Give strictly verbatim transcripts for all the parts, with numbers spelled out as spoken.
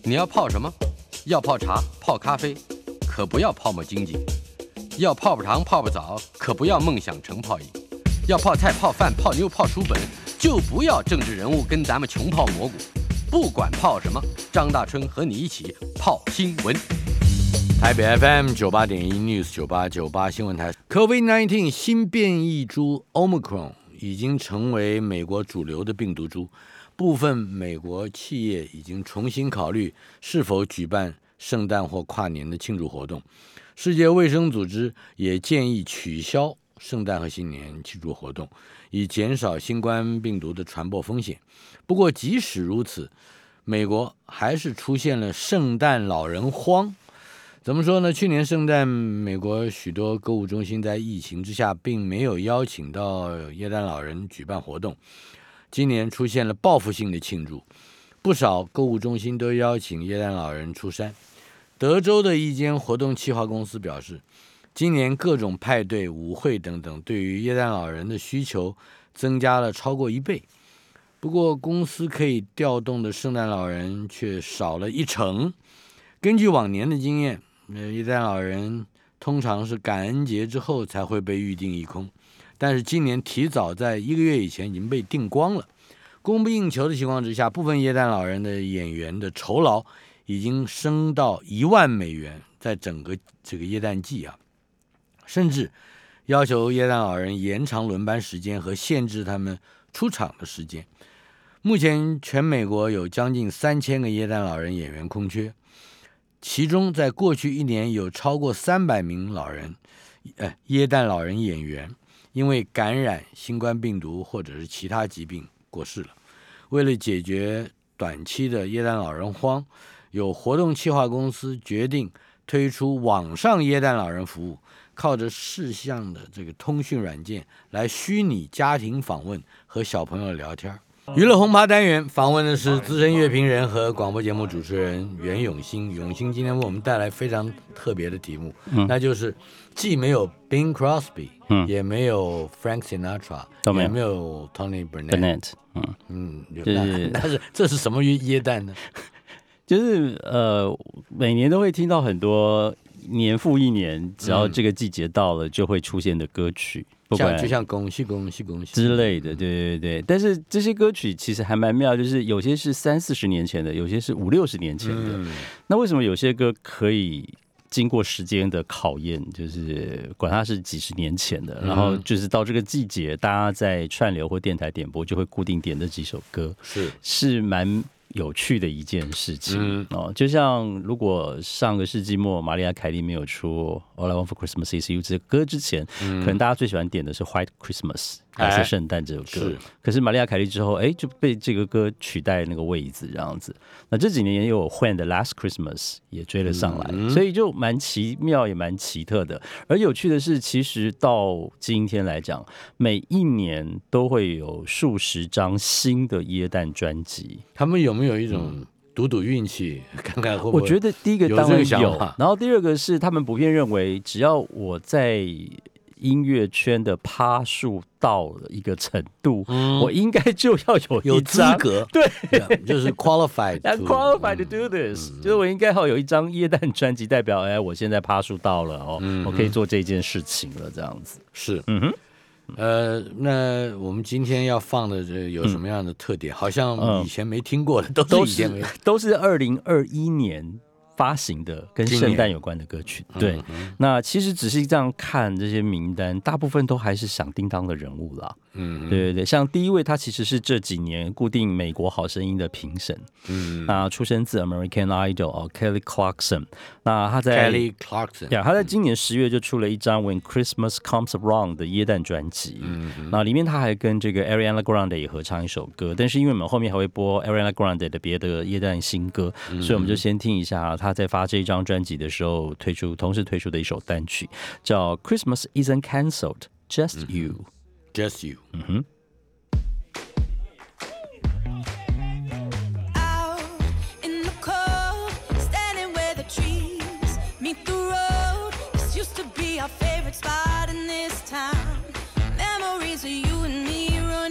你要泡什么？要泡茶、泡咖啡，可不要泡沫经济；要泡泡糖、泡泡澡，可不要梦想成泡影；要泡菜、泡饭、泡妞、泡书本，就不要政治人物跟咱们穷泡蘑菇。不管泡什么，张大春和你一起泡新闻。台北 F M 九八点一 News 九八九八新闻台 ，COVID 十九 新变异株 Omicron 已经成为美国主流的病毒株。部分美国企业已经重新考虑是否举办圣诞或跨年的庆祝活动。世界卫生组织也建议取消圣诞和新年庆祝活动，以减少新冠病毒的传播风险。不过即使如此，美国还是出现了圣诞老人荒。怎么说呢？去年圣诞，美国许多购物中心在疫情之下并没有邀请到耶诞老人举办活动。今年出现了报复性的庆祝，不少购物中心都邀请耶诞老人出山。德州的一间活动企划公司表示，今年各种派对、舞会等等对于耶诞老人的需求增加了超过一倍。不过公司可以调动的圣诞老人却少了一成。根据往年的经验，耶诞老人通常是感恩节之后才会被预定一空，但是今年提早在一个月以前已经被订光了。供不应求的情况之下，部分耶诞老人的演员的酬劳已经升到一万美元，在整个这个耶诞季啊，甚至要求耶诞老人延长轮班时间和限制他们出场的时间。目前全美国有将近三千个耶诞老人演员空缺，其中在过去一年有超过三百名老人，呃，耶诞老人演员因为感染新冠病毒或者是其他疾病过世了。为了解决短期的耶诞老人荒，有活动企划公司决定推出网上耶诞老人服务，靠着视像的这个通讯软件来虚拟家庭访问和小朋友聊天。娱乐轰趴单元访问的是资深乐评人和广播节目主持人袁永新。永新今天为我们带来非常特别的题目，嗯、那就是既没有 Bing Crosby，嗯、也没有 Frank Sinatra， 也没有 Tony Bennett。嗯嗯，就是，但是这是什么耶诞呢？ 就是呃，每年都会听到很多年复一年，只要这个季节到了，就会出现的歌曲。 像就像恭喜恭喜恭喜之类的，对对对。但是这些歌曲其实还蛮妙，就是有些是三四十年前的，有些是五六十年前的。嗯、那为什么有些歌可以经过时间的考验，就是管它是几十年前的，嗯、然后就是到这个季节，大家在串流或电台点播就会固定点这几首歌， 是是蛮有趣的一件事情、嗯哦、就像如果上个世纪末玛丽亚凯莉没有出 All I Want for Christmas Is You 这个歌之前、嗯、可能大家最喜欢点的是 White Christmas 还是圣诞这首歌、哎、可是玛丽亚凯莉之后哎，就被这个歌取代那个位置这样子。那这几年也有 When the Last Christmas 也追了上来、嗯、所以就蛮奇妙也蛮奇特的。而有趣的是其实到今天来讲，每一年都会有数十张新的耶诞专辑。 他们有没有一种赌赌运气、嗯、看看会不会？ 我觉得第一个当然有，然后第二个是他们普遍认为只要我在音乐圈的趴数到了一个程度、嗯、我应该就要有一张有资格， 对， yeah, 就是 qualified to, qualified to do this、嗯、就是我应该要有一张耶诞专辑，代表哎，我现在趴数到了哦、嗯，我可以做这件事情了，这样子是，嗯哼。呃，那我们今天要放的这有什么样的特点？嗯、好像以前没听过的，嗯、都是以前没都是二零二一年发行的跟圣诞有关的歌曲。对、嗯，那其实仔细这样看这些名单，大部分都还是响叮当的人物啦。嗯，对对对，像第一位他其实是这几年固定美国好声音的评审，嗯，那出身自 American Idol 哦 ，Kelly Clarkson。那他在 Kelly Clarkson， 对，他在今年十月就出了一张 When Christmas Comes Around 的耶诞专辑。嗯，那里面他还跟这个 Ariana Grande 也合唱一首歌，但是因为我们后面还会播 Ariana Grande 的别的耶诞新歌、嗯，所以我们就先听一下他在发这一张专辑的时候推出，同时推出的一首单曲，叫 Christmas Isn't Cancelled, Just You。Just You， 嗯哼。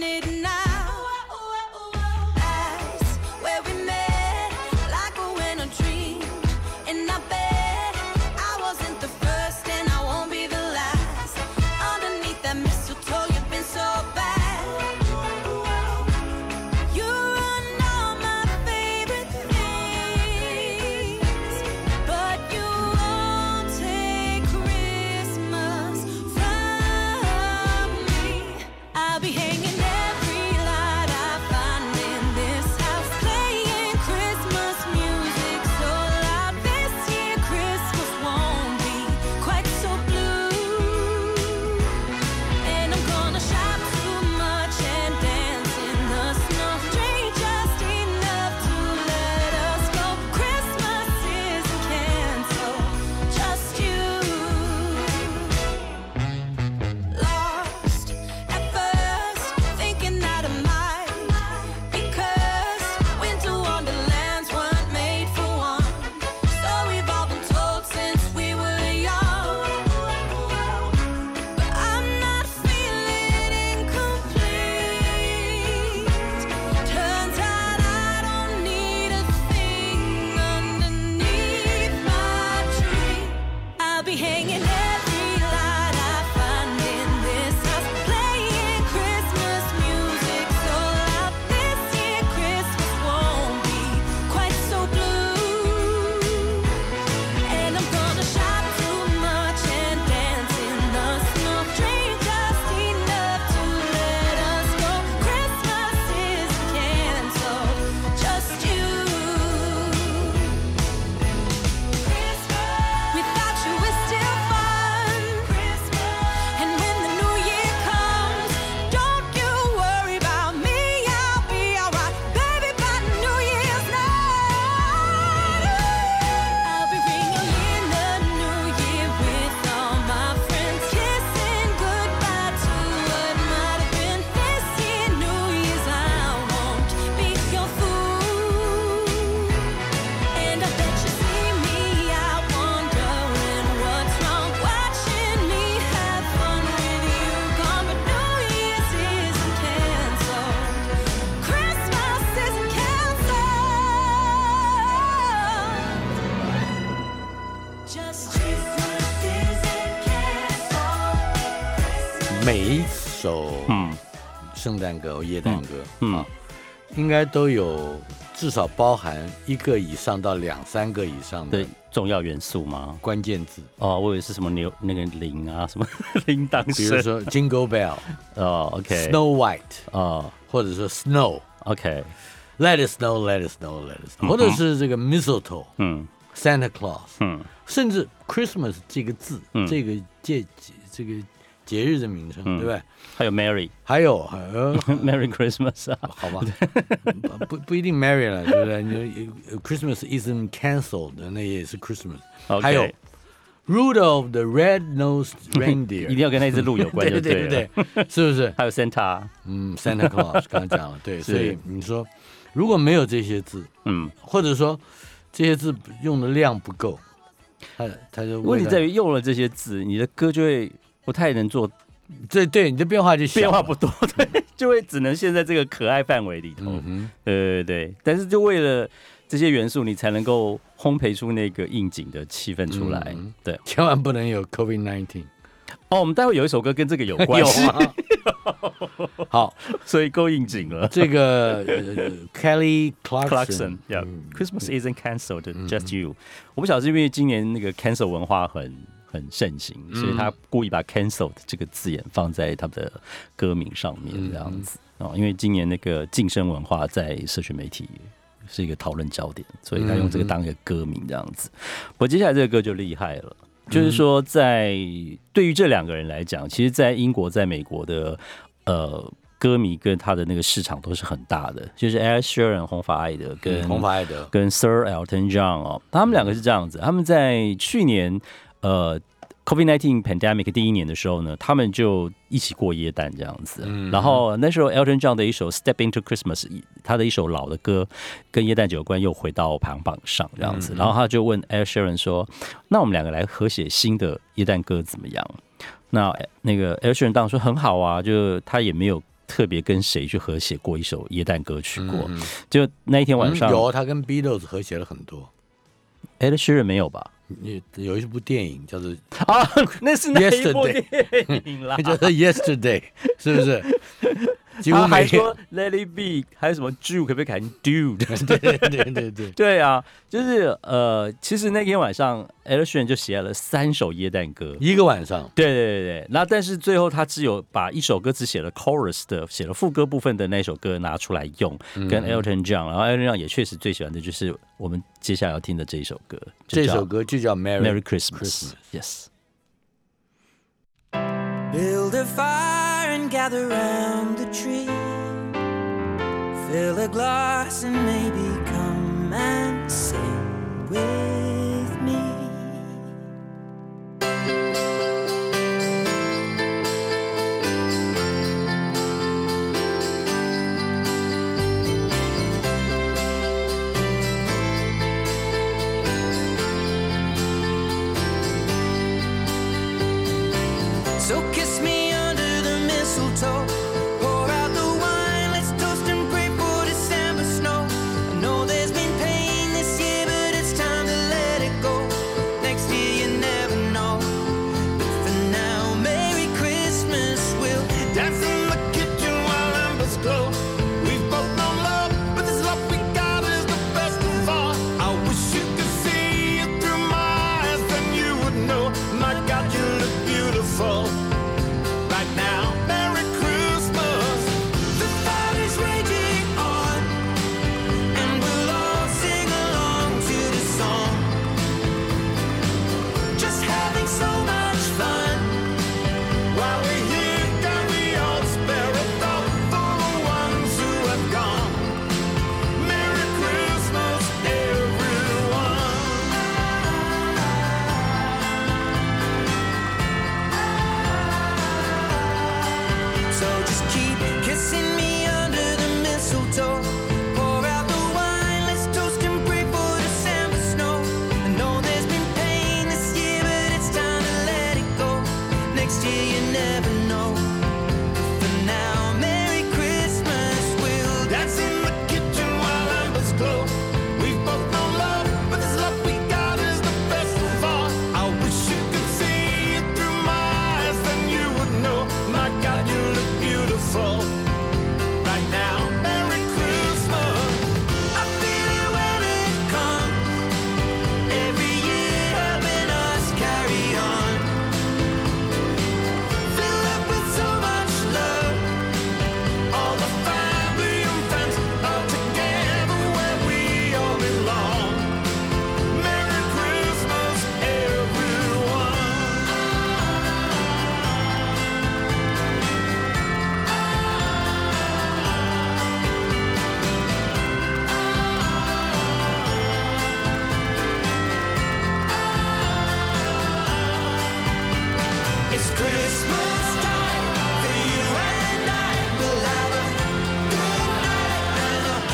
Where we met, like when a 每一首嗯圣诞歌、耶诞歌、 嗯啊，应该都有至少包含一个以上到两三个以上的对重要元素吗？ 关键字。 哦，我以为是什么牛那个铃啊，什么铃铛声， 比如说 Jingle Bell， 哦 ，OK， Snow White， 哦或者说 Snow，OK， ，OK， Let it snow, let it snow, let it snow，、嗯、或者是这个 Mistletoe， 嗯 Santa Claus， 嗯， 甚至 Christmas 这个字，嗯、这个节这个节日的名称，嗯、对不对？ 还有 Merry， 还有还有 Merry Christmas 啊， 好吧，不不一定 Merry 了，对不对？你 Christmas isn't cancelled， 那也是 Christmas。Okay. 还有 Rudolph the Red-Nosed Reindeer， 一定要跟那只鹿有关就对了， 对对对，是不是？ 还有 Santa， 嗯 ，Santa Claus 刚刚讲了，对，所以你说如果没有这些字，嗯，或者说这些字用的量不够，他他就问题在于用了这些字，你的歌就会不太能做。 对对，你的变化就小， 变化不多，对，就会只能陷在这个可爱范围里头。嗯、对对对，但是就为了这些元素，你才能够烘焙出那个应景的气氛出来。嗯、对， 千万不能有 COVID 十九。 哦，我们待会有一首歌跟这个有关系。 好， 所以够应景了。 这个、呃、Kelly Clarkson， yeah， Christmas isn't cancelled, just you。我不晓得是因为今年那个 cancel 文化很。很盛行，所以他故意把 cancelled 这个字眼放在他的歌名上面，这样子、嗯哦、因为今年那个晋升文化在社群媒体是一个讨论焦点，所以他用这个当一个歌名这样子。不过接下来这个歌就厉害了，就是说在对于这两个人来讲，其实，在英国、在美国的呃。歌迷跟他的那个市场都是很大的，就是 Ed Sheeran 红发爱德跟、嗯、 红发爱德跟 Sir Elton John 哦，他们两个是这样子，他们在去年呃 COVID 十九 pandemic 第一年的时候呢，他们就一起过耶诞这样子，嗯、然后那时候 Elton John 的一首 Step Into Christmas， 他的一首老的歌跟耶诞节有关，又回到排行榜上这样子，嗯、然后他就问 Ed Sheeran 说：“那我们两个来合写新的耶诞歌怎么样？”那那个 Ed Sheeran 当然说很好啊，就他也没有。特别跟谁去合写过一首耶诞歌曲过？嗯、就那一天晚上， 嗯、有他跟 Beatles 合写了很多。 Ed Sheeran 没有吧？ 有一部电影叫做啊，那是哪一部电影啦？ 叫做 Yesterday， 是不是？ 他还说 Let it be， 还有什么 Jew 可不可以改成 Dude？ 对对对对对， 对啊，就是呃，其实那天晚上 Ed Sheeran 就写了三首耶诞歌， 一个晚上。 对对对对，那但是最后他只有把一首歌只写了 chorus 的，写了副歌部分的那首歌拿出来用，嗯、跟 Elton John， 然后 Elton John 也确实最喜欢的就是我们接下来要听的这一首歌， 这首歌就叫 Merry, Merry Christmas， Yes。 Build a fire and gather round the tree. Fill a glass and maybe come and sing with me. So kiss me under the mistletoe. Pour out the wine, let's toast and pray for December snow. I know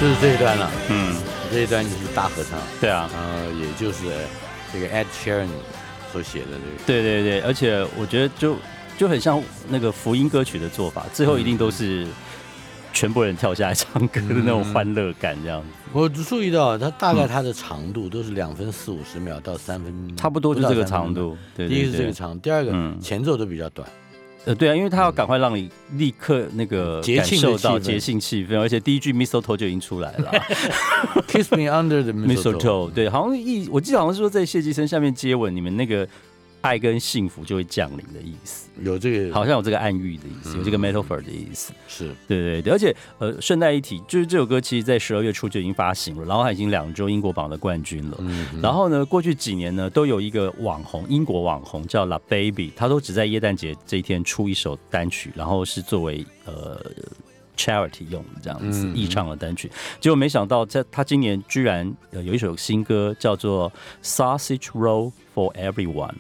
就是这一段了。 嗯， 这一段就是大合唱。 对啊， 呃，也就是这个 Ed Sheeran 所写的这个。 对对对，而且我觉得就就很像那个福音歌曲的做法，最后一定都是全部人跳下来唱歌的那种欢乐感，这样子。 我注意到它大概它的长度都是两分四五十秒到三分， 差不多就这个长度。对对对， 第一个是这个长，第二个、嗯、前奏都比较短。 呃，对啊，因为他要赶快让你立刻那个感受到节庆气氛，而且第一句 mistletoe 就已经出来了 ，Kiss me under the mistletoe。 对，好像一我记得好像是说在谢济生下面接吻，你们那个爱跟幸福就会降临的意思， 有这个， 好像有这个暗喻的意思，有这个 metaphor 的意思。 是， 对对对，而且呃，顺带一提，就是这首歌其实在十二月初就已经发行了，然后它已经两周英国榜的冠军了。嗯，然后呢，过去几年呢，都有一个网红，英国网红叫 La Baby， 他都只在耶诞节这一天出一首单曲，然后是作为呃 charity 用的这样子义唱的单曲。结果没想到，在他今年居然有一首新歌叫做 Sausage Roll for Everyone。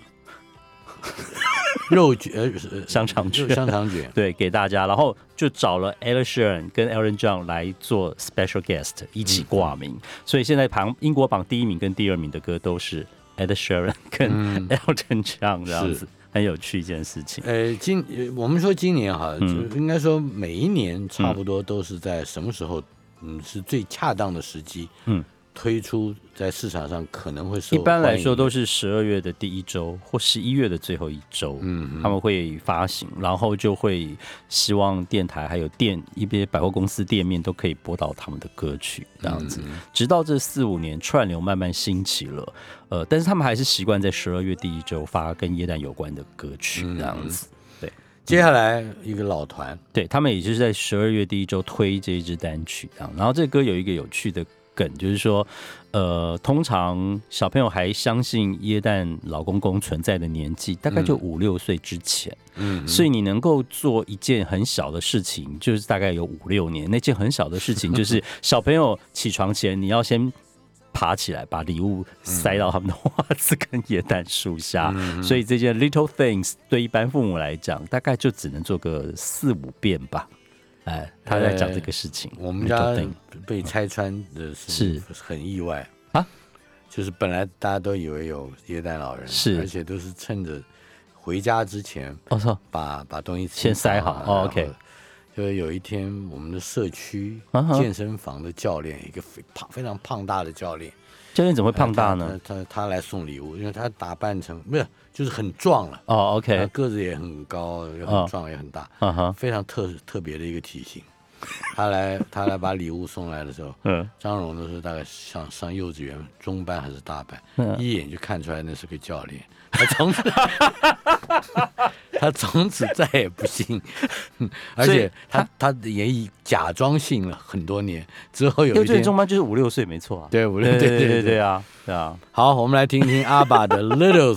肉卷呃香肠卷， 香肠卷， 对，给大家，然后就找了 Ed Sheeran 跟 Elton John 来做 special guest 一起挂名，嗯、所以现在榜英国榜第一名跟第二名的歌都是 Ed Sheeran 跟 Elton John 这样子，嗯、很有趣一件事情。 呃，今我们说今年哈，嗯、应该说每一年差不多都是在什么时候，嗯，是最恰当的时机，嗯。推出在市场上可能会受一般来说都是十二月的第一周或十一月的最后一周，嗯，他们会发行，然后就会希望电台还有店一些百货公司店面都可以播到他们的歌曲，这样子，嗯、直到这四五年串流慢慢兴起了，呃，但是他们还是习惯在十二月第一周发跟耶诞有关的歌曲，这样子。嗯对， 接下来一个老团， 对他们也就是在十二月第一周推这一支单曲，这样，然后这歌有一个有趣的。梗就是说，呃，通常小朋友还相信耶诞老公公存在的年纪，大概就五六岁之前，嗯，所以你能够做一件很小的事情，就是大概有五六年。那件很小的事情就是小朋友起床前，你要先爬起来，把礼物塞到他们的袜子跟耶诞树下。嗯、所以这件 little things 对一般父母来讲，大概就只能做个四五遍吧。哎，他在讲这个事情。 呃、我们家被拆穿的是很意外啊，就是本来大家都以为有耶诞老人， 是， 而且都是趁着回家之前， 哦， 把把东西先塞好。哦 OK， 就有一天我们的社区健身房的教练，一个非胖非常胖大的教练。 教练怎么会胖大呢？ 他 他, 他, 他来送礼物，因为他打扮成不是就是很壮了哦 ，OK， 个子也很高，也很壮，哦、也很大，uh-huh. 非常特特别的一个体型。他来他来把礼物送来的时候，嗯，张荣那时候大概上上幼稚园中班还是大班，嗯、一眼就看出来那是个教练。他从此他从此再也不信，而且他他也以假装信了很多年。之后有一天，幼稚园中班就是五六岁，没错啊。 对，五六对对对对啊，对啊。 好，我们来听听阿爸的 Little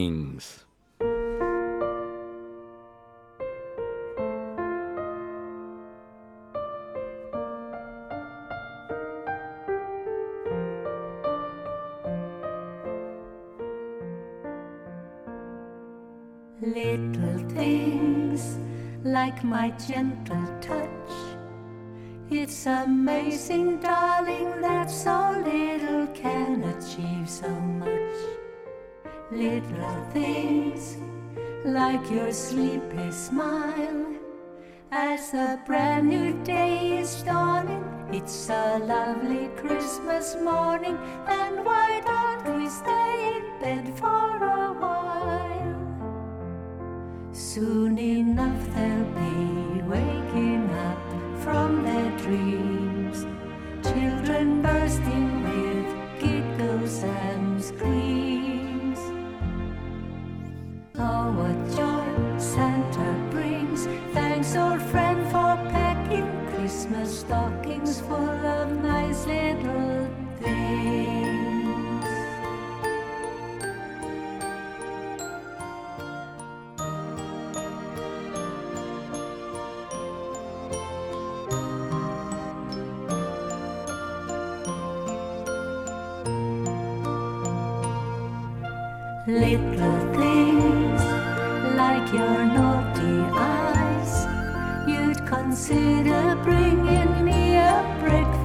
Things。Little things like my gentle touch. It's amazing, darling, that so little can achieve so much. Little things like your sleepy smile as a brand new day is dawning. It's a lovely Christmas morning, and why don't we stay in bed for a while? Soon enough they'll be waking up from their dreams, children bursting with giggles and screams. Oh, what joy Santa brings! Thanks, old friend, for packing Christmas stockings full of nice little things. Little things like your naughty eyes, you'd consider bringing me a breakfast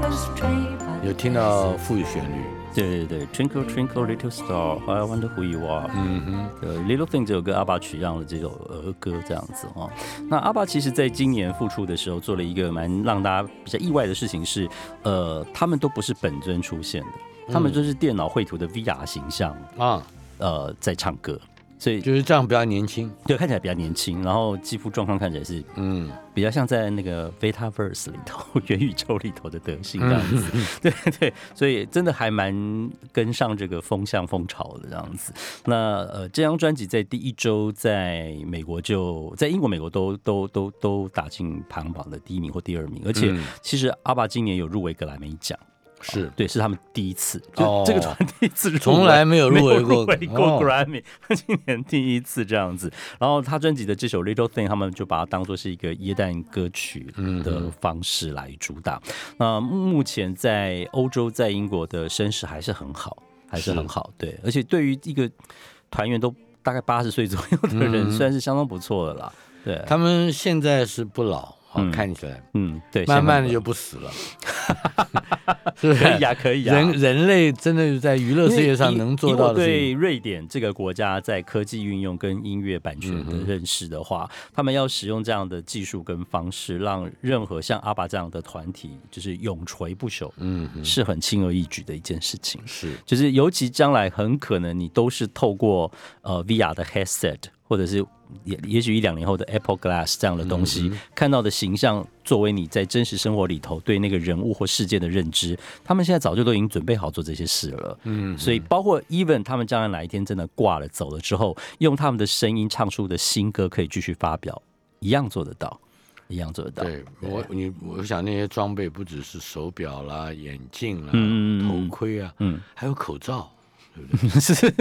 有听到副旋律。 对对对 ，Twinkle Twinkle Little Star, I Wonder Who You Are。嗯哼，对 ，Little Thing 这首歌阿爸取样了这首儿歌这样子哦。那阿爸其实在今年复出的时候，做了一个蛮让大家比较意外的事情是，呃，他们都不是本尊出现的，他们都是电脑绘图的 V R 形象啊，呃，在唱歌。所以就是这样比较年轻， 对，看起来比较年轻，然后肌肤状况看起来是，嗯，比较像在那个 Vetaverse 里头元宇宙里头的德性这样子，嗯、对对，所以真的还蛮跟上这个风向风潮的这样子。那呃，这张专辑在第一周在美国就在英国、美国都都都都打进排行榜的第一名或第二名，而且其实阿爸今年有入围格莱美奖。 是、 哦、对，是他们第一次，就这个团第一次入围， 从来没有入围过， 入围过 Grammy，、哦、今年第一次这样子。然后他专辑的这首 Little Thing， 他们就把它当作是一个耶诞歌曲的方式来主打。那、嗯、目前在欧洲、在英国的声势还是很好，还是很好。对，而且对于一个团员都大概八十岁左右的人，嗯、算是相当不错的啦。对， 他们现在是不老。好、嗯、看起来， 嗯，对， 慢慢的就不死了， 是可以啊，可以啊。 人人类真的在娱乐事业上能做到的事情。 对瑞典这个国家在科技运用跟音乐版权的认识的话，嗯、他们要使用这样的技术跟方式，让任何像阿爸这样的团体就是永垂不朽，嗯，是很轻而易举的一件事情。 是， 就是尤其将来很可能你都是透过呃 V R 的 headset。或者是也也许一两年后的 Apple Glass 这样的东西、嗯、看到的形象作为你在真实生活里头对那个人物或事件的认知，他们现在早就都已经准备好做这些事了。嗯，所以包括 even 他们将来哪一天真的挂了走了之后，用他们的声音唱出的新歌可以继续发表，一样做得到，一样做得到。 对，我你我想那些装备不只是手表啦、眼镜啦、嗯、头盔啊，嗯，还有口罩，对不对？是。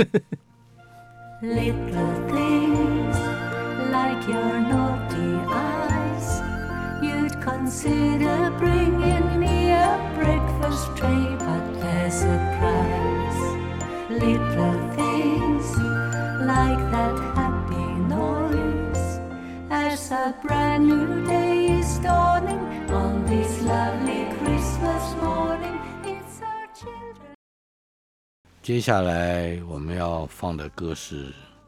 Little things like your naughty eyes, you'd consider bringing me a breakfast tray, but there's a price. Little things like that happy noise, as a brand new day is dawning on this lovely Christmas morning. It's our children. 接下来我们要放的歌是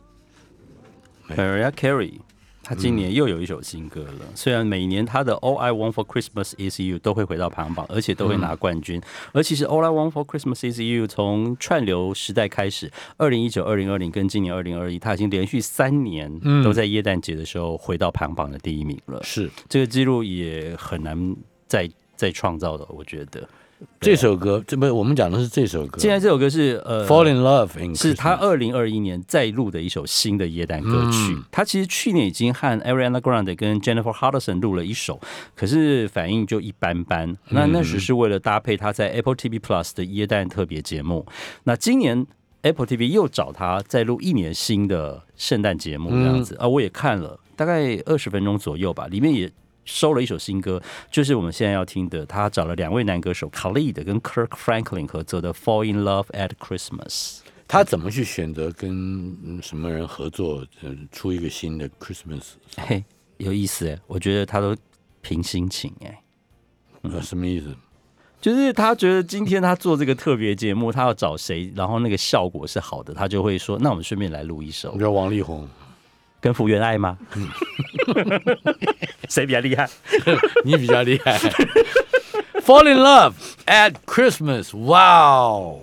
Mariah Carey， 她今年又有一首新歌了。嗯、虽然每年她的 All I Want for Christmas Is You 都会回到排行榜，而且都会拿冠军。嗯、而其实 All I Want for Christmas Is You 从串流时代开始，二零一九、二零二零跟今年二零二一，她已经连续三年都在耶诞节的时候回到排行榜的第一名了。 是这个记录也很难再再创造的，我觉得。 这首歌，这不我们讲的是这首歌。 现在这首歌是呃 ，Fall in Love， 是他二零二一年再录的一首新的耶诞歌曲。嗯、他其实去年已经和 Ariana Grande 跟 Jennifer Hudson 录了一首，可是反应就一般般。那那时是为了搭配他在 Apple T V Plus 的耶诞特别节目。那今年 Apple T V 又找他再录一年新的圣诞节目这样子、嗯、啊，我也看了，大概二十分钟左右吧，里面也收了一首新歌，就是我们现在要听的。他找了两位男歌手 Khalid 跟 Kirk Franklin 合作的 Fall in Love at Christmas。 他怎么去选择跟什么人合作出一个新的 Christmas？ 嘿，有意思哎，我觉得他都凭心情哎、 嗯。什么意思？ 就是他觉得今天他做这个特别节目，他要找谁，然后那个效果是好的，他就会说那我们顺便来录一首。 你知道王力宏跟福原爱吗？谁比较厉害？ 你比较厉害。Fall in Love at Christmas， 哇哦！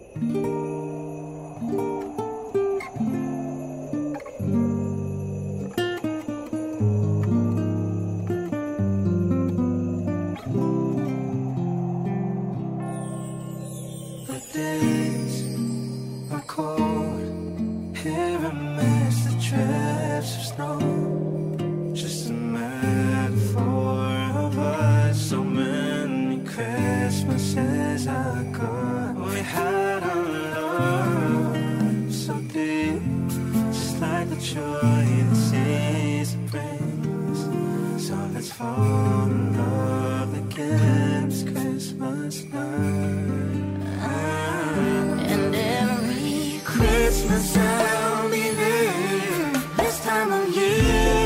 Christmas I'll be there this time of year.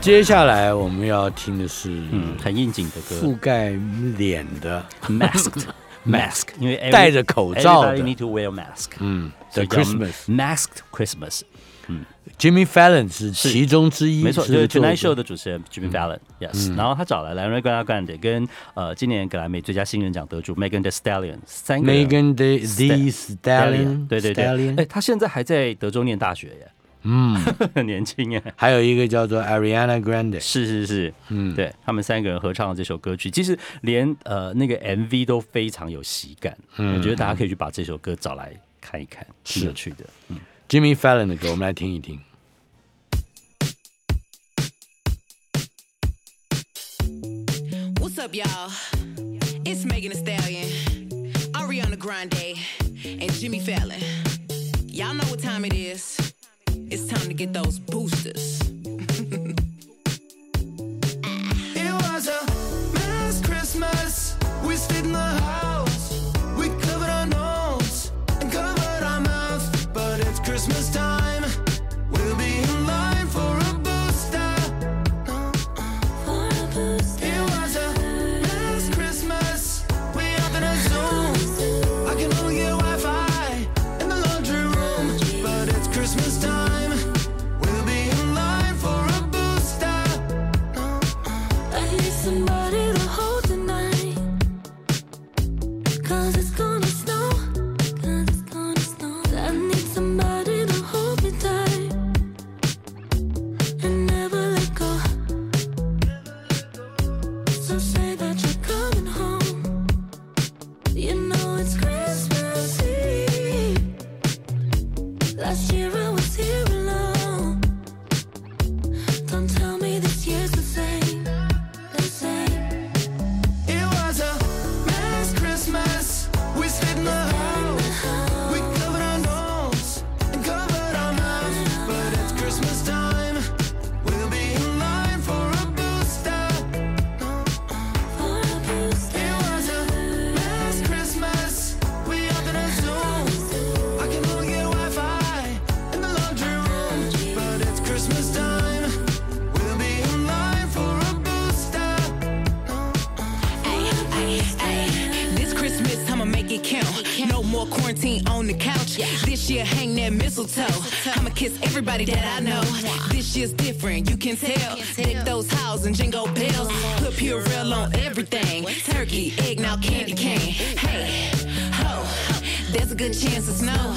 接下来我们要听的是嗯很应景的歌， 覆盖脸的 masked mask， 因为戴着口罩的 ，everybody need to wear mask， 嗯 ，The Christmas masked Christmas， 嗯 ，Jimmy Fallon 是其中之一， 没错，就是 Tonight Show 的的主持人 Jimmy Fallon，yes，、嗯、然后他找来莱瑞·格拉干的跟呃今年格莱美最佳新人奖得主 Megan Thee Stallion 三个 Megan Thee Stallion， 对对对，哎，他现在还在德州念大学耶。 嗯， 很年轻耶。 还有一个叫做 Ariana Grande， 是是是，嗯，对他们三个人合唱的这首歌曲，其实连呃那个 M V 都非常有喜感，嗯，我觉得大家可以去把这首歌找来看一看，挺有趣的。嗯 ，Jimmy Fallon 的歌，我们来听一听。 What's up, y'all? It's Megan Thee Stallion, Ariana Grande, and Jimmy Fallon. Y'all know what time it is. It's time to get those boosters. It was a mass Christmas. We stayed in the house. We covered our nose and covered our mouth. But it's Christmas time. We'll be in line for a booster. For a booster. It was a mass Christmas. We up in a Zoom. I can only get Wi-Fi in the laundry room. But it's Christmas time. We'll be in line for a booster. I need somebody to hold tonight. Cause it's gonna snow. Cause it's gonna snow. I need somebody to hold me tight and never let go. So say that you're coming home. You know it's Christmas Eve. Last year I was here alone. Don't tell me this year's the same. The same. It was a mass Christmas. We stayed in the house. We covered our nose and covered our mouth. But it's Christmas time. We'll be in line for a booster. For a booster. It was a mass Christmas. We up in a Zoom. I can only get Wi-Fi in the laundry room. But it's Christmas time. We'll be in line for a booster. Ay, ay, ay. This Christmas, I'ma make it count. No more quarantine on the couch. This year, hang that mistletoe. I'ma kiss everybody that I know. This year's different, you can tell. Deck those houses and jingle bells. Put Purell on everything. Turkey, egg, now candy cane. Hey, ho, there's a good chance of snow.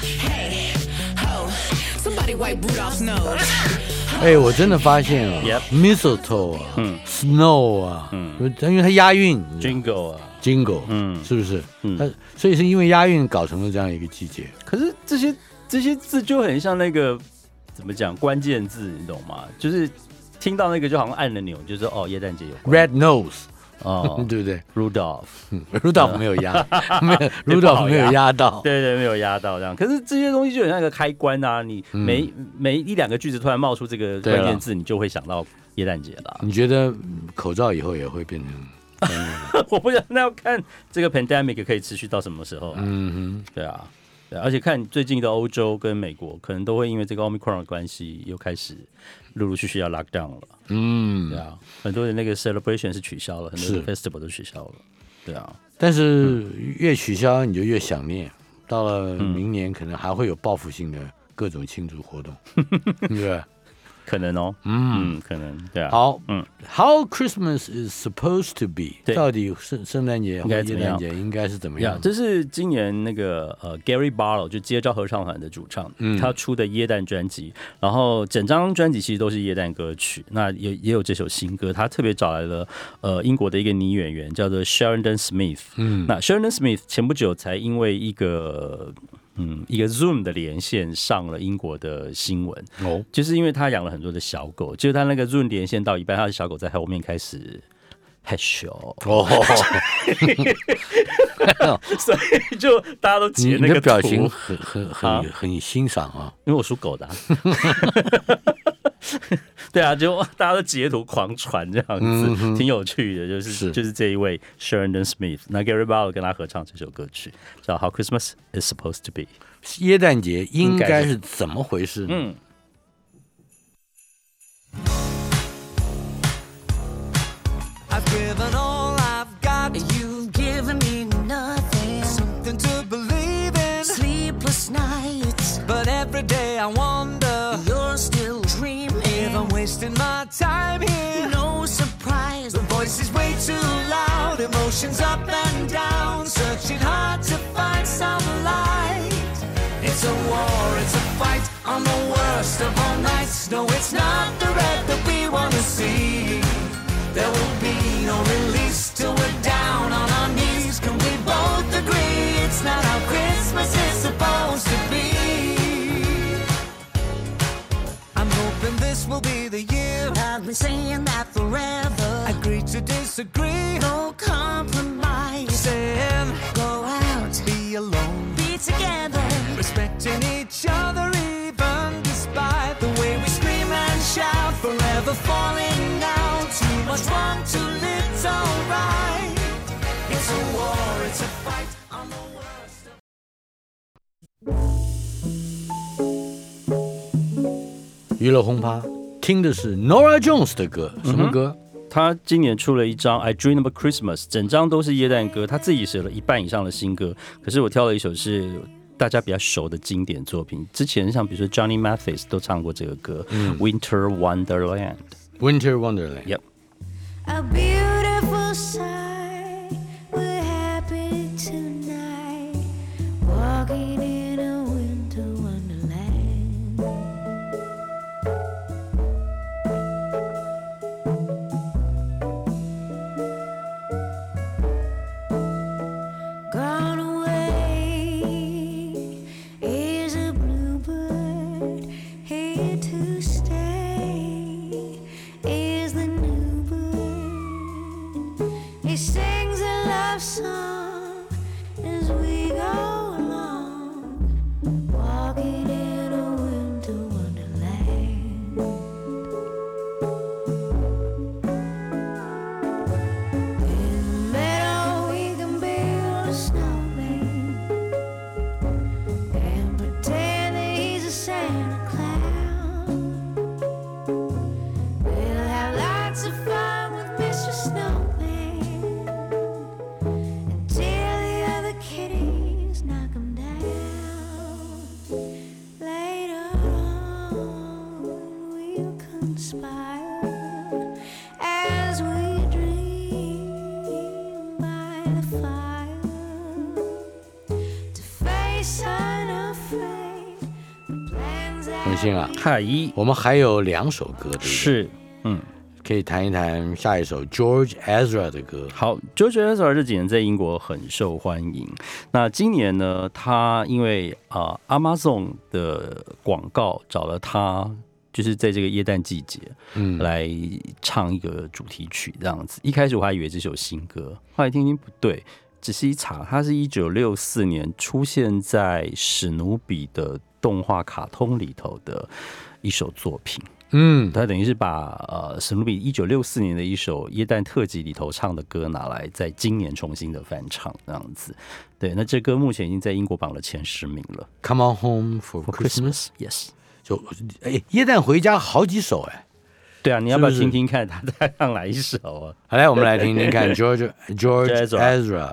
Hey, ho, somebody wipe Rudolph's nose. 哎，我真的发现啊 Yep ，mistletoe 啊，嗯 ，snow 啊，嗯，因为它押韵 Jingle 啊， ，jingle，嗯，是不是？嗯，它所以是因为押韵搞成了这样一个季节。 可是这些这些字就很像那个怎么讲关键字，你懂吗？就是听到那个就好像按了钮，就是哦，耶诞节有关 Red nose， 哦， 对不对 ？Rudolph，Rudolph ？Rudolph 没有压，没有 Rudolph 没有压到， 对对，没有压到这样。可是这些东西就很像一个开关啊，你每、嗯、每一两个句子突然冒出这个关键字，你就会想到耶诞节了。 你觉得口罩以后也会变成？ 我不知道，那要看这个 pandemic 可以持续到什么时候、啊。嗯哼，对啊，对，而且看最近的欧洲跟美国，可能都会因为这个 Omicron 的关系，又开始陆陆续续要 lock down 了。嗯，对啊，很多的那个 celebration 是取消了，很多的 festival 都取消了。对啊， 但是越取消你就越想念，到了明年可能还会有报复性的各种庆祝活动，对不对？ 可能哦，嗯，可能对啊。 好，嗯 ，How Christmas is supposed to be？ 到底圣圣诞节和耶诞节应该是怎么样？ yeah, 这是今年那个呃 Gary Barlow 就接招合唱团的主唱，嗯、他出的耶诞专辑，然后整张专辑其实都是耶诞歌曲，那也也有这首新歌，他特别找来了呃英国的一个女演员叫做 Sheridan Smith， 嗯，那 Sheridan Smith 前不久才因为一个。嗯，一个 Zoom 的连线上了英国的新闻，哦，就是因为他养了很多的小狗，就是他那个 Zoom 连线到一半，他的小狗在后面开始害羞，哦，所以就大家都截那个图， 你的表情很很很、啊、很欣赏啊， 因为我属狗的、啊。对啊，就大家都截图狂传这样子，嗯、挺有趣的。就是是就是这一位 Sheridan Smith， 那 Gary Barlow 跟他合唱这首歌曲叫《How Christmas Is Supposed to Be》。 耶诞节应该是怎么回事呢？嗯 given all I've got. You've given me nothing. Something to believe in. Sleepless nights. But every day I wonder, you're still dreaming. If I'm wasting my time here. No surprise. The voice is way too loud. Emotions up and down. Searching hard to find some light. It's a war, it's a fight on the worst of all nights. No, it's not the red that we want to see. There will be no release till we're down on our knees. Can we both agree it's not how Christmas is supposed to be? I'm hoping this will be the year. I've been saying that forever. Agree to disagree. No compromise. Saying go out, be alone, be together. Respecting each other even despite the way we scream and shout. Forever falling out. Too much wrong, too little right. It's a war, it's a fight on the worst of...娱乐轰趴听的是 Norah Jones 的歌，什么歌？嗯， 他今年出了一张《I Dream of Christmas》，整张都是耶诞歌，他自己写了一半以上的新歌。可是我挑了一首是大家比较熟的经典作品，之前像比如说 Johnny Mathis 都唱过这个歌，嗯，《Winter Wonderland》。Winter Wonderland。Yep。 A beautiful sight. We're happy tonight. Walking in a winter wonderland. Gone away is a bluebird. Here to stay is the new bird. He sings a love song as we go along, walking in a winter wonderland. In the meadow we can build a snowman and pretend that he's a Santa Claus. We'll have lots of fun with Mister Snowman until the other kitties knock him down. Later on we'll conspire as we dream by the fire to face unafraid the plans that 文心啊， 嗨， 我们还有两首歌，对不对？ 是，嗯。 可以谈一谈下一首 George Ezra 的歌。 好 ，George Ezra 这几年在英国很受欢迎。那今年呢，他因为啊、呃、Amazon 的广告找了他，就是在这个耶诞季节，嗯，来唱一个主题曲这样子。一开始我还以为这首新歌，后来听听不对，仔细一查，它是一九六四年出现在史努比的动画卡通里头的一首作品。嗯，他等于是把呃史努比一九六四年的一首耶诞特辑里头唱的歌拿来在今年重新的翻唱这样子。对，那这歌目前已经在英国榜了前十名了。 Come on home for Christmas， yes。 就哎，耶诞回家好几首哎。 对啊，你要不要听听看他在唱哪一首啊？ 好，来我们来听听看 George George Ezra。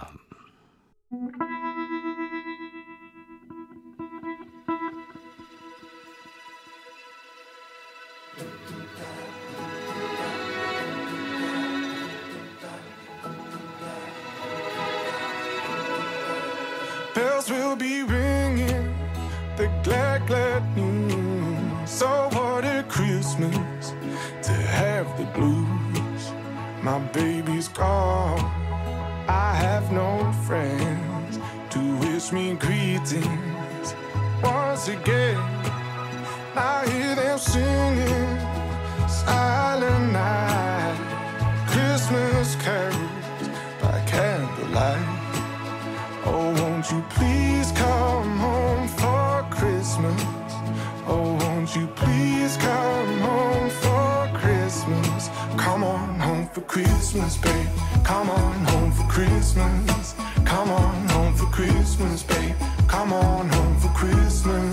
Bells will be ringing, the glad, glad news. So what a Christmas to have the blues. My baby's gone, I have no friends to wish me greetings once again. I hear them singing Silent Night, Christmas carols by candlelight. Oh, won't you please come home for Christmas? Oh, won't you please come home for Christmas? Come on home for Christmas, babe. Come on home for Christmas. Come on home for Christmas, babe. Come on home for Christmas.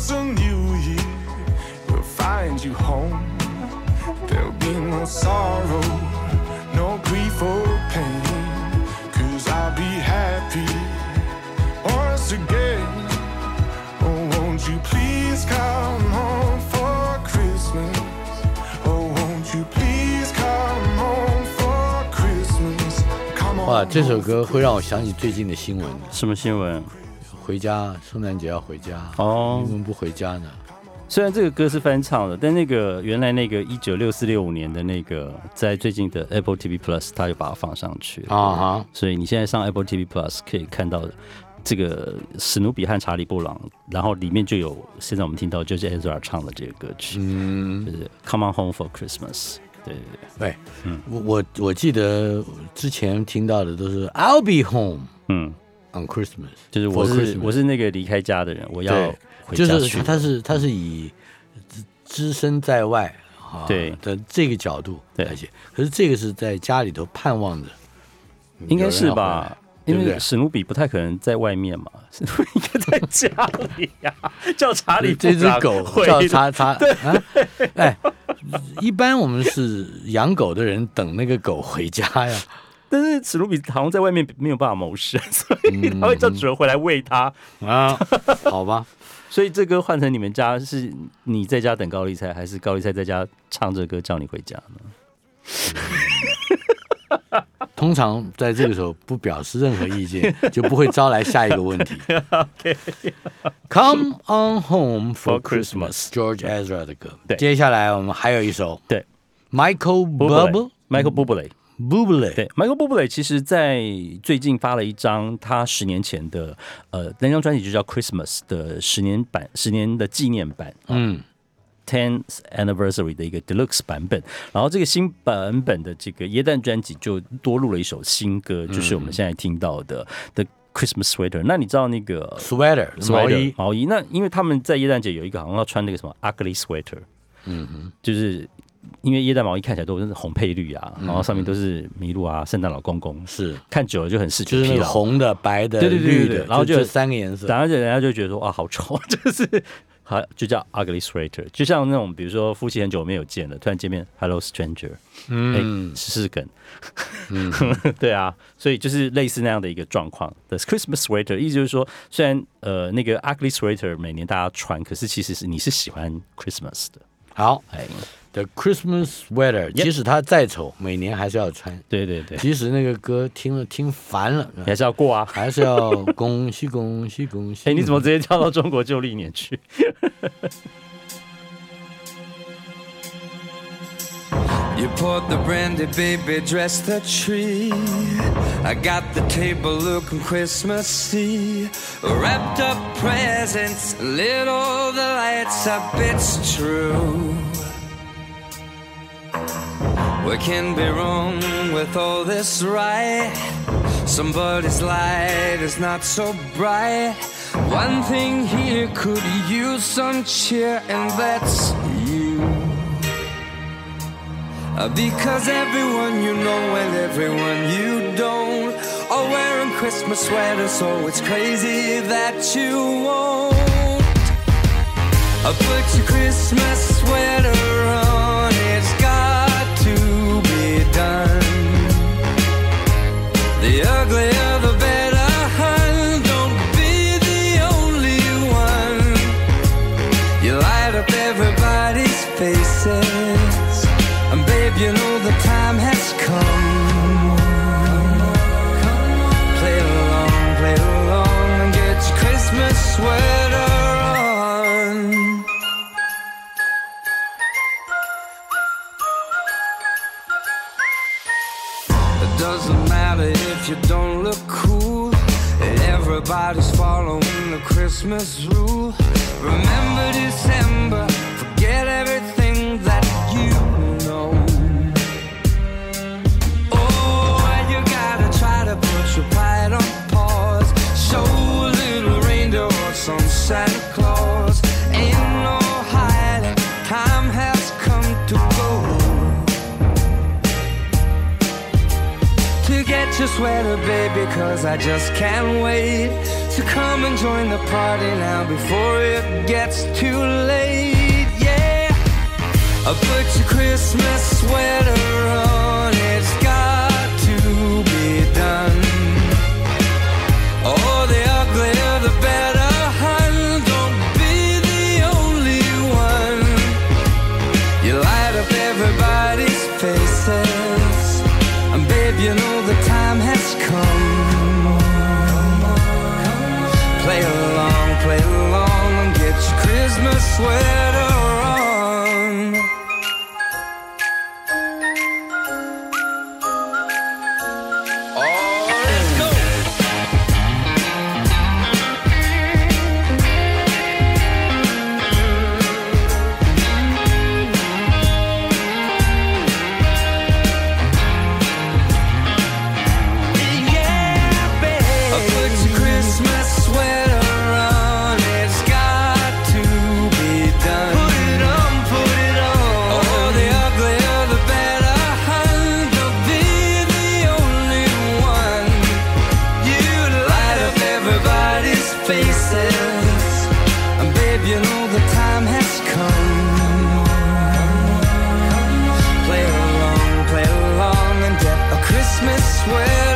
'cause a new year will find you home. There'll be no sorrow, no grief or pain, 'cause I'll be happy once again. Oh, won't you please come home for Christmas? Oh, won't you please come home for Christmas? Come on. 哇，这首歌会让我想起最近的新闻。 什么新闻？ 回家，圣诞节要回家。 哦， 你们不回家呢？ 虽然这个歌是翻唱的，但那个原来那个一九六四六五年的那个，在最近的 Apple T V Plus， 它就把它放上去了啊哈。所以你现在上 Apple T V Plus 可以看到这个史努比和查理布朗，然后里面就有现在我们听到就是 Ezra 唱的这个歌曲，嗯，就是 Come on Home for Christmas。对对对， 对，嗯，我我我记得之前听到的都是 I'll be home， 嗯。On Christmas， 就是我是我是那个离开家的人，我要回家去。 就是他是他是以只身在外啊对的这个角度来写，可是这个是在家里头盼望着， 应该是吧？因为史努比不太可能在外面嘛，史努比应该在家里呀、啊。叫查理这只狗叫查查，啊，哎，一般我们是养狗的人等那个狗回家呀。 但是史努比好像在外面没有办法谋生，所以他会叫主人回来喂他、 嗯、啊。好吧， 所以这歌换成你们家是你在家等高丽菜，还是高丽菜在家唱这歌叫你回家呢？ 通常在这个时候不表示任何意见，就不会招来下一个问题。 okay. Come on home for Christmas， George Ezra 的歌。接下来我们还有一首， 对 ，Michael Bublé，Michael Bublé。对 ，Michael Bublé 其实在最近发了一张他十年前的呃那张专辑就叫 Christmas 的十年版，十年的纪念版，嗯 ，tenth anniversary 的一个 deluxe 版本。然后这个新版本的这个耶诞专辑就多录了一首新歌，就是我们现在听到的 The Christmas Sweater。那你知道那个 sweater 毛衣毛衣？那因为他们在耶诞节有一个好像要穿那个什么 ugly sweater， 嗯哼，就是。因为耶诞毛衣看起来都是红配绿啊，然后上面都是麋鹿啊、圣诞老公公，是看久了就很视觉疲劳， 就是那个红的、白的、 对对对对绿的， 然后就这三个颜色， 然后就人家就觉得说哇好丑，就是好就叫 ugly sweater， 就像那种比如说夫妻很久没有见了，突然见面 hello stranger， 嗯，哎，试试梗，嗯，对啊，所以就是类似那样的一个状况。The Christmas sweater 意思就是说，虽然呃那个 ugly sweater 每年大家穿，可是其实是你是喜欢 Christmas 的。 好，哎。The Christmas Sweater， 即使它再丑，每年还是要穿。 对对对， 即使那个歌听了听烦了， 还是要过啊， 还是要恭喜恭喜恭喜。 哎，你怎么直接跳到中国旧历年去 ？You poured the brandy, baby, dressed the tree. I got the table looking Christmassy. Wrapped up presents, lit all the lights up, it's true. What can be wrong with all this, right? Somebody's light is not so bright. One thing here could use some cheer, and that's you. Because everyone you know and everyone you don't are wearing Christmas sweaters, so it's crazy that you won't put your Christmas sweater on. It's got to be done. The uglier the better, hun. Don't be the only one. You light up everybody's faces, and babe, you know the time has come. Play along, play along, and get your Christmas sweater on. It doesn't matter if you don't look cool. Everybody's following the Christmas rule. Remember December, forget everything that you know. Oh, you gotta try to put your pride on pause. Show a little reindeer or some Santa Claus. Ain't no hiding, time has come to go. To get your sweater, baby, cause I just can't wait. to come and join the party now before it gets too late. Yeah, put your Christmas sweater on, it's got to be done. Oh, the uglier the better, hun, don't be the only one. You light up everybody's faces, and babe, you know the time has come. Play along, play along, and get your Christmas sweater on. Oh, let's go. Yeah, babe, put your Christmas sweater on, it's got to be done. Put it on, put it on. Oh, the uglier the better, hun, don't be the only one. You light up everybody's faces, and babe, you know the time has come. Play along, play along, and get a Christmas sweater.